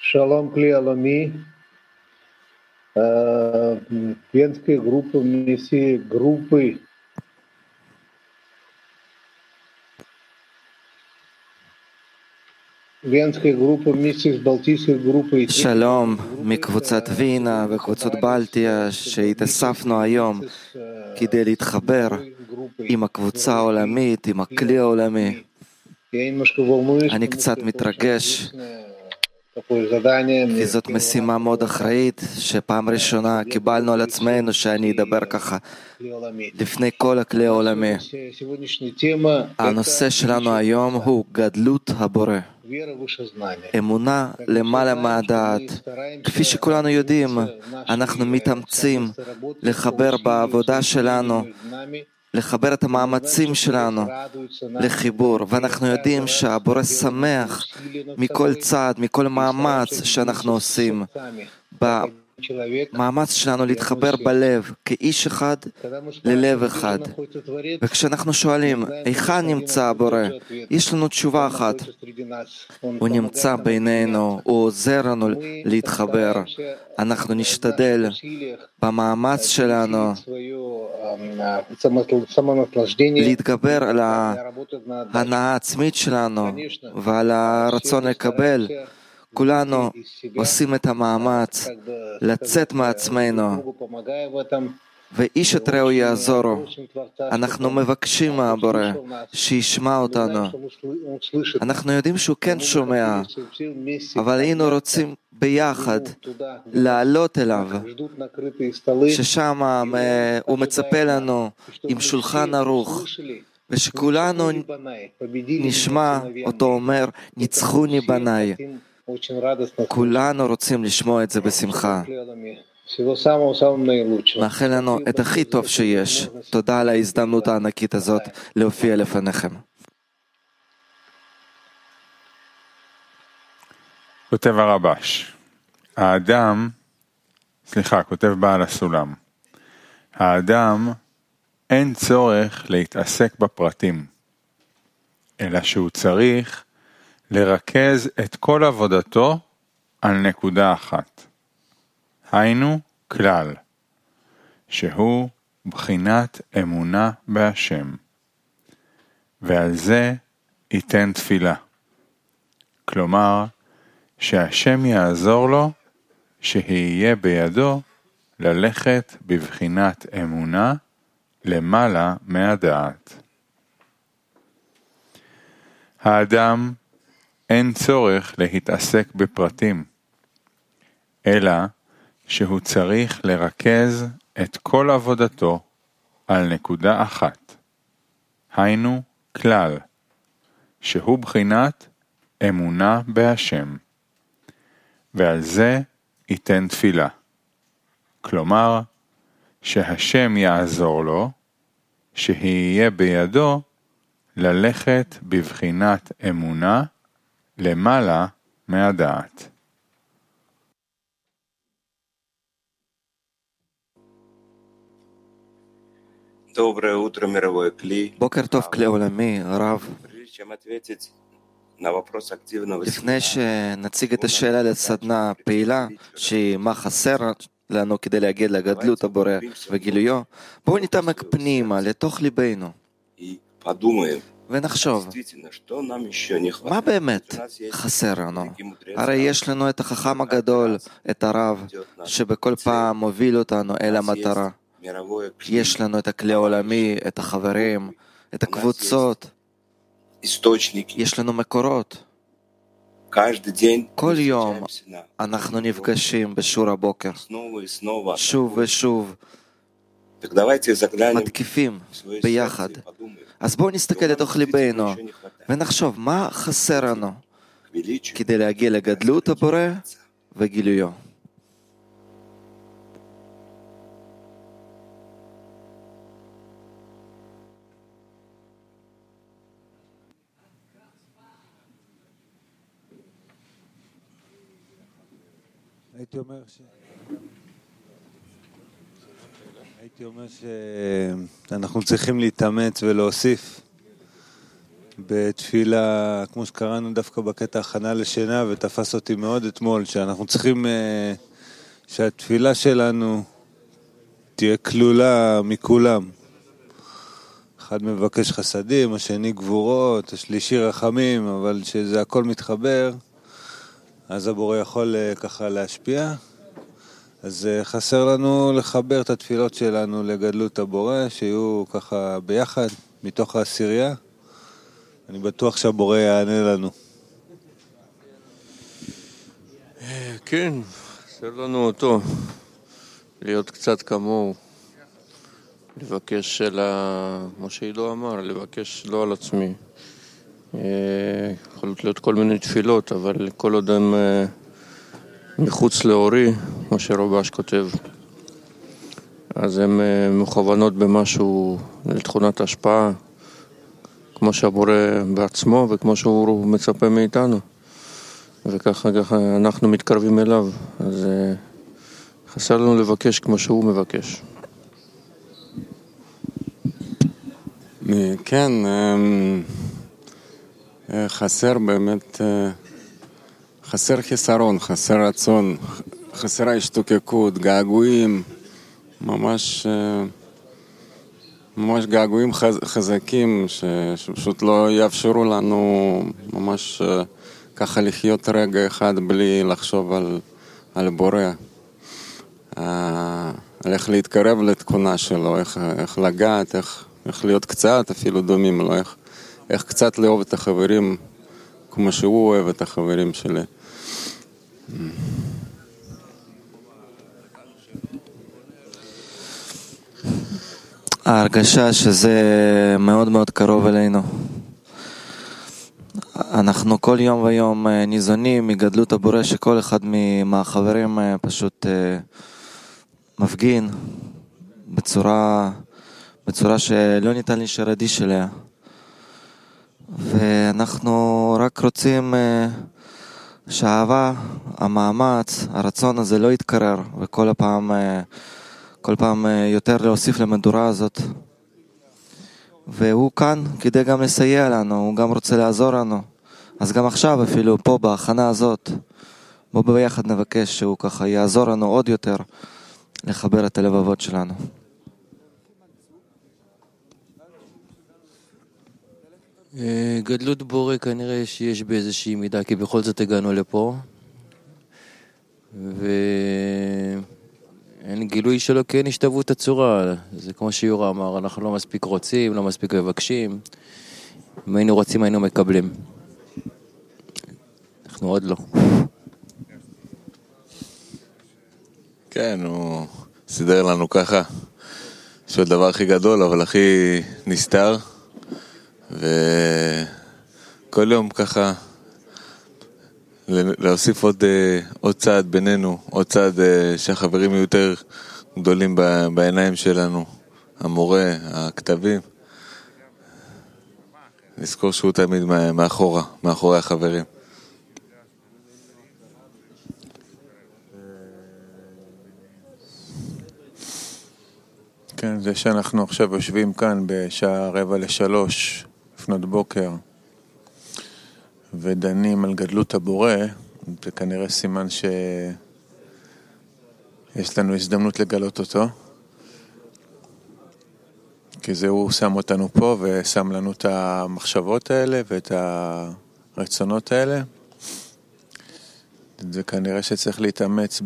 Шалом Клеолами. Венская группа вместе группы Венская группа вместе с Балтийской группой. שלום מקבוצת וינה וקבוצות בלטיה שהתאספנו היום כדי להתחבר עם הקבוצה העולמית, עם הכלי העולמי. אני קצת מתרגש, כי זאת משימה מאוד אחראית שפעם ראשונה קיבלנו על עצמנו שאני אדבר ככה לפני כל הכלי העולמי. הנושא שלנו היום הוא גדלות הבורא, אמונה למעלה מהדעת. כפי שכולנו יודעים, אנחנו מתאמצים לחבר בעבודה שלנו, לחבר את המאמצים שלנו לחיבור, ואנחנו יודעים שהבורא שמח מכל צעד, מכל מאמץ שאנחנו עושים, במאמץ שלנו להתחבר בלב כאיש אחד ללב אחד. וכשאנחנו שואלים היכן נמצא הבורא, יש לנו תשובה אחת: הוא נמצא בינינו, הוא עוזר לנו להתחבר. אנחנו נשתדל במאמץ שלנו להתגבר על ההנאה העצמית שלנו ועל הרצון לקבל. כולנו עושים את המאמץ לצאת מעצמנו, ואיש את רעהו יעזורו. אנחנו מבקשים מהבורא שישמע אותנו. אנחנו יודעים שהוא כן שומע, אבל היינו רוצים ביחד לעלות אליו, ששם הוא מצפה לנו עם שולחן ערוך, ושכולנו נשמע אותו אומר ניצחוני בניי. כולנו רוצים לשמוע את זה בשמחה. מאחל לנו את הכי טוב שיש. תודה על ההזדמנות הענקית הזאת להופיע לפניכם. כותב הרבש, כותב בעל הסולם, האדם אין צורך להתעסק בפרטים, אלא שהוא צריך לרכז את כל עבודתו על נקודה אחת. היינו כלל, שהוא בחינת אמונה בהשם, ועל זה ייתן תפילה. כלומר, שהשם יעזור לו, שיהיה בידו ללכת בבחינת אמונה למעלה מהדעת. האדם אין צורך להתעסק בפרטים, אלא שהוא צריך לרכז את כל עבודתו על נקודה אחת. היינו כלל, שהוא בחינת אמונה בהשם, ועל זה ייתן תפילה. כלומר, שהשם יעזור לו, שיהיה בידו ללכת בבחינת אמונה למעלה מהדעת. בוקר טוב כלי עולמי, הרב. לפני שנציג את השאלה לסדנה פעילה, שהיא מה חסר לנו כדי להגיע לגדלות הבורא וגילויו, בואו נתעמק פנימה לתוך ליבנו ונחשוב, מה באמת חסר לנו? הרי יש לנו את החכם הגדול, את הרב, שבכל פעם מוביל אותנו אל המטרה. יש לנו את הכלי העולמי, את החברים, את הקבוצות. יש לנו מקורות. כל יום אנחנו נפגשים בשיעור הבוקר, שוב ושוב, מתקיפים ביחד. אז בואו נסתכל לתוך ליבנו ונחשוב מה חסר לנו כדי להגיע לגדלות הבורא וגילויו. הייתי אומר שאנחנו צריכים להתאמץ ולהוסיף בתפילה, כמו שקראנו דווקא בקטע הכנה לשינה, ותפס אותי מאוד אתמול, שאנחנו צריכים שהתפילה שלנו תהיה כלולה מכולם. אחד מבקש חסדים, השני גבורות, השלישי רחמים, אבל שזה הכל מתחבר, אז הבורא יכול ככה להשפיע. אז חסר לנו לחבר את התפילות שלנו לגדלות הבורא, שיהיו ככה ביחד, מתוך העשירייה. אני בטוח שהבורא יענה לנו. כן, חסר לנו אותו, להיות קצת כמוהו, לבקש מה שאילו אמר, לבקש לא על עצמי. יכולות להיות כל מיני תפילות, אבל כל עוד הם מחוץ לאורי, מה שרובש כותב, אז הן מכוונות במשהו לתכונת השפעה, כמו שהבורא בעצמו וכמו שהוא מצפה מאיתנו, וככה אנחנו מתקרבים אליו. אז חסר לנו לבקש כמו שהוא מבקש. כן, חסר באמת, חסר חיסרון, חסר רצון, חסר השתוקקות, געגועים, ממש געגועים חזקים שפשוט לא יאפשרו לנו ממש ככה לחיות רגע אחד בלי לחשוב על בורא, על איך להתקרב לתכונה שלו, איך לגעת, איך להיות קצת אפילו דומים לו, איך קצת לאהוב את החברים כמו שהוא אוהב את החברים שלי. ההרגשה שזה מאוד מאוד קרוב אלינו. אנחנו כל יום ויום ניזונים מגדלות הבורא, שכל אחד מהחברים פשוט מפגין בצורה שלא ניתן להישאר אדיש אליה. ואנחנו רק רוצים שהאהבה, המאמץ, הרצון הזה לא יתקרר, וכל פעם יותר להוסיף למדורה הזאת. והוא כאן כדי גם לסייע לנו, הוא גם רוצה לעזור לנו. אז גם עכשיו אפילו פה בהכנה הזאת, בוא ביחד נבקש שהוא ככה יעזור לנו עוד יותר לחבר את הלבבות שלנו. גדלות בורא כנראה שיש באיזושהי מידה, כי בכל זאת הגענו לפה, אין גילוי שלו, כן השתוות הצורה. זה כמו שיורה אמר, אנחנו לא מספיק רוצים, לא מספיק מבקשים. אם היינו רוצים היינו מקבלים, אנחנו עוד לא. כן, הוא סידר לנו ככה, שהוא הדבר הכי גדול אבל הכי נסתר, וכל יום ככה להוסיף עוד צעד בינינו, עוד צעד שהחברים יהיו יותר גדולים בעיניים שלנו, המורה, הכתבים, לזכור שהוא תמיד מאחורי החברים. כן, זה שאנחנו עכשיו יושבים כאן בשעה 2:45 לפנות בוקר ודנים על גדלות הבורא, זה כנראה סימן שיש לנו הזדמנות לגלות אותו, כי זה הוא שם אותנו פה ושם לנו את המחשבות האלה ואת הרצונות האלה. זה כנראה שצריך להתאמץ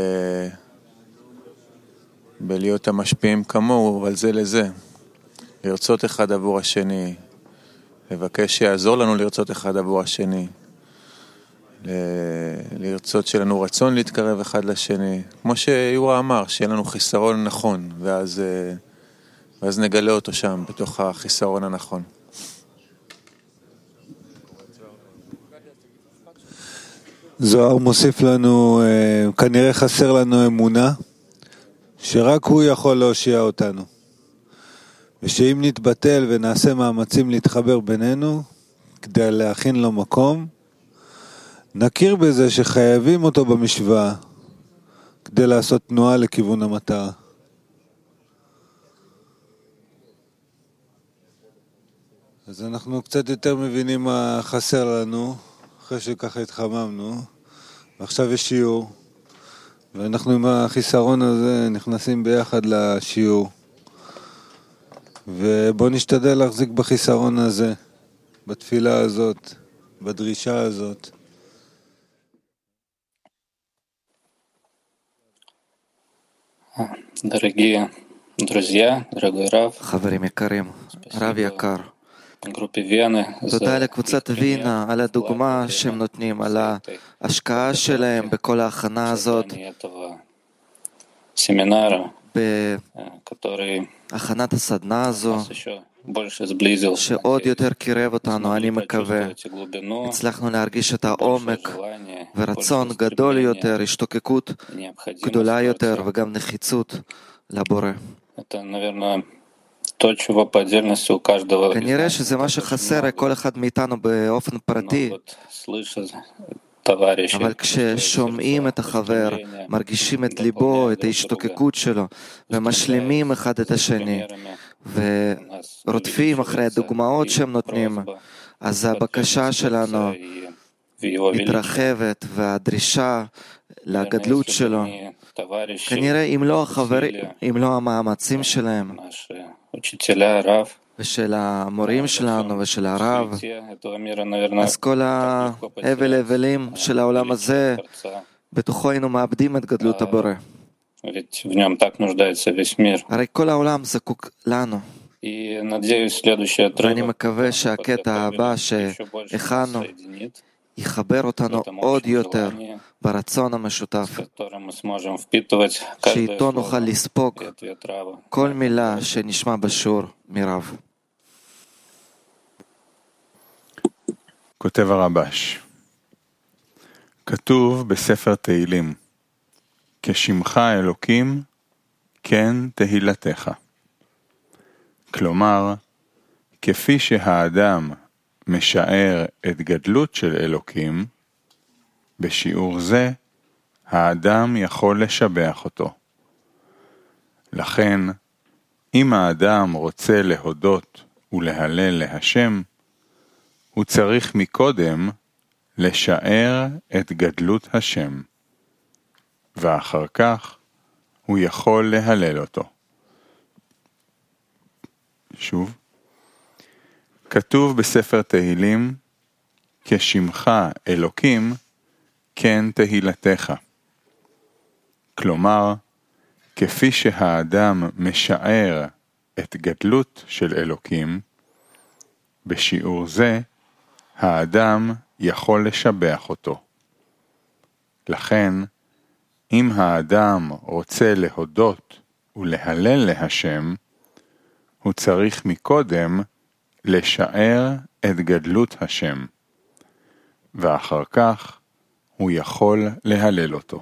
בלהיות המשפיעים כמוהו, אבל זה לזה. לרצות אחד עבור השני, לבקש שיעזור לנו לרצות אחד עבור השני, לרצות שלנו רצון להתקרב אחד לשני, כמו שיורה אמר, שיהיה לנו חיסרון נכון, ואז נגלה אותו שם, בתוך החיסרון הנכון. זוהר מוסיף לנו, כנראה חסר לנו אמונה, שרק הוא יכול להושיע אותנו. ושאם נתבטל ונעשה מאמצים להתחבר בינינו, כדי להכין לו מקום, נכיר בזה שחייבים אותו במשוואה, כדי לעשות תנועה לכיוון המטרה. אז אנחנו קצת יותר מבינים מה חסר לנו, אחרי שככה התחממנו. ועכשיו יש שיעור, ואנחנו עם החיסרון הזה נכנסים ביחד לשיעור. ובואו נשתדל להחזיק בחיסרון הזה, בתפילה הזאת, בדרישה הזאת. Дорогие друзья, дорогой Рав, חברים יקרים, רב יקר, группе Вены תודה לקבוצת וינה על הדוגמה שהם נותנים, על ההשקעה שלהם בכל ההכנה הזאת, בהכנת הסדנה הזו, שעוד יותר קירב אותנו, אני מקווה. הצלחנו להרגיש את העומק ורצון גדול יותר, השתוקקות גדולה יותר וגם נחיצות לבורא. כנראה שזה מה שחסר לכל אחד מאיתנו באופן פרטי, אבל כששומעים את החבר, מרגישים את ליבו, את ההשתוקקות שלו, ומשלימים אחד את השני, ורודפים אחרי הדוגמאות שהם נותנים, אז הבקשה שלנו מתרחבת, והדרישה לגדלות שלו, כנראה אם לא המאמצים שלהם, ושל המורים שלנו ושל הרב, אז כל ההבל של העולם הזה, בתוכו היינו מאבדים את גדלות הבורא. הרי כל העולם זקוק לנו. ואני מקווה שהקטע הבא שהכנו יחבר אותנו עוד יותר ברצון המשותף, שאיתו נוכל לספוג כל מילה שנשמע בשיעור מרב. כותב הרבש, כתוב בספר תהילים, כשמך אלוקים, כן תהילתך. כלומר, כפי שהאדם משער את גדלות של אלוקים, בשיעור זה האדם יכול לשבח אותו. לכן, אם האדם רוצה להודות ולהלל להשם, הוא צריך מקודם לשער את גדלות השם, ואחר כך הוא יכול להלל אותו. שוב, כתוב בספר תהילים, כשמך אלוקים, כן תהילתך. כלומר, כפי שהאדם משער את גדלות של אלוקים, בשיעור זה, האדם יכול לשבח אותו. לכן, אם האדם רוצה להודות ולהלל להשם, הוא צריך מקודם לשער את גדלות השם, ואחר כך הוא יכול להלל אותו.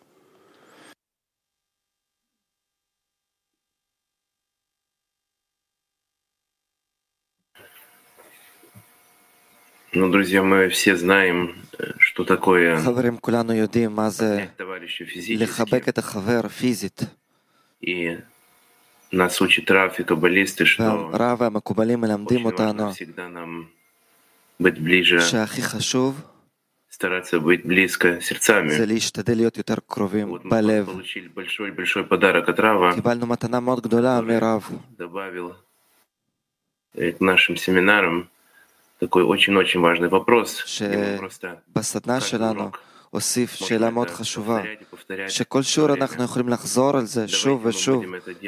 Ну, друзья, мы все знаем, что такое חברים, כולנו יודעים מה זה לחבק את החבר פיזית. И нас учат Рав и каббалисты, что והרב והמקובלים מלמדים אותנו всегда нам быть ближе, שהכי חשוב стараться быть близко сердцами. זה להשתדל להיות יותר קרובים בלב. Получили большой подарок от Рава, קיבלנו מתנה מאוד גדולה מרב, добавил к нашим семинарам такой очень важный вопрос. שבסדנה שלנו הוסיף שאלה מאוד חשובה, שכל שיעור אנחנו יכולים לחזור על זה שוב ושוב.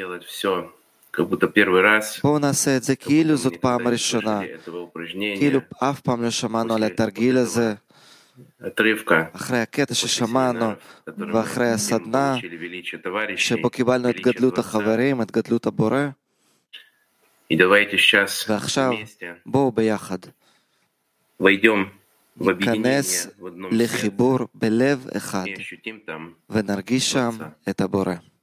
בואו נעשה את זה כאילו זאת פעם ראשונה, כאילו אף פעם לא שמענו על התרגיל הזה. אחרי הקטע ששמענו ואחרי הסדנה שבו קיבלנו את גדלות החברים, את גדלות הבורא, ועכשיו בואו ביחד ניכנס לחיבור בלב אחד ונרגיש שם את הבורא.